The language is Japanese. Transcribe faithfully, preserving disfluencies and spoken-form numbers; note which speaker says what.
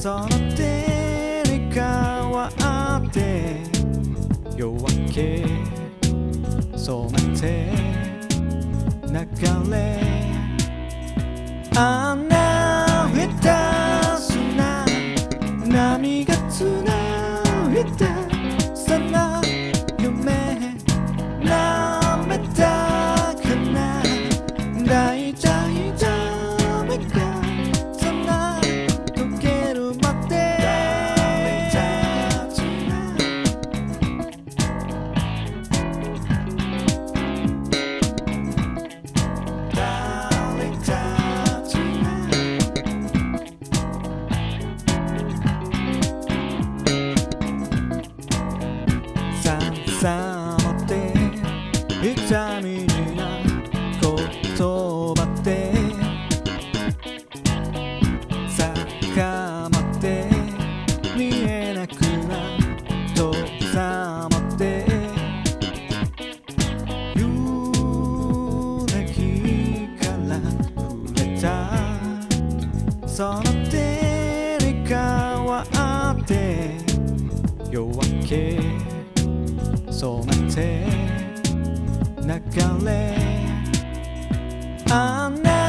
Speaker 1: その手に変わって夜明け染めて流れ穴下手すな波がつないだその夢舐めたかな大体ダメかそんな溶けるまでさまって痛みな言葉で逆まって見えなくな遠ざまって夕焼から触れたその手に変わって夜明け染めて流れあな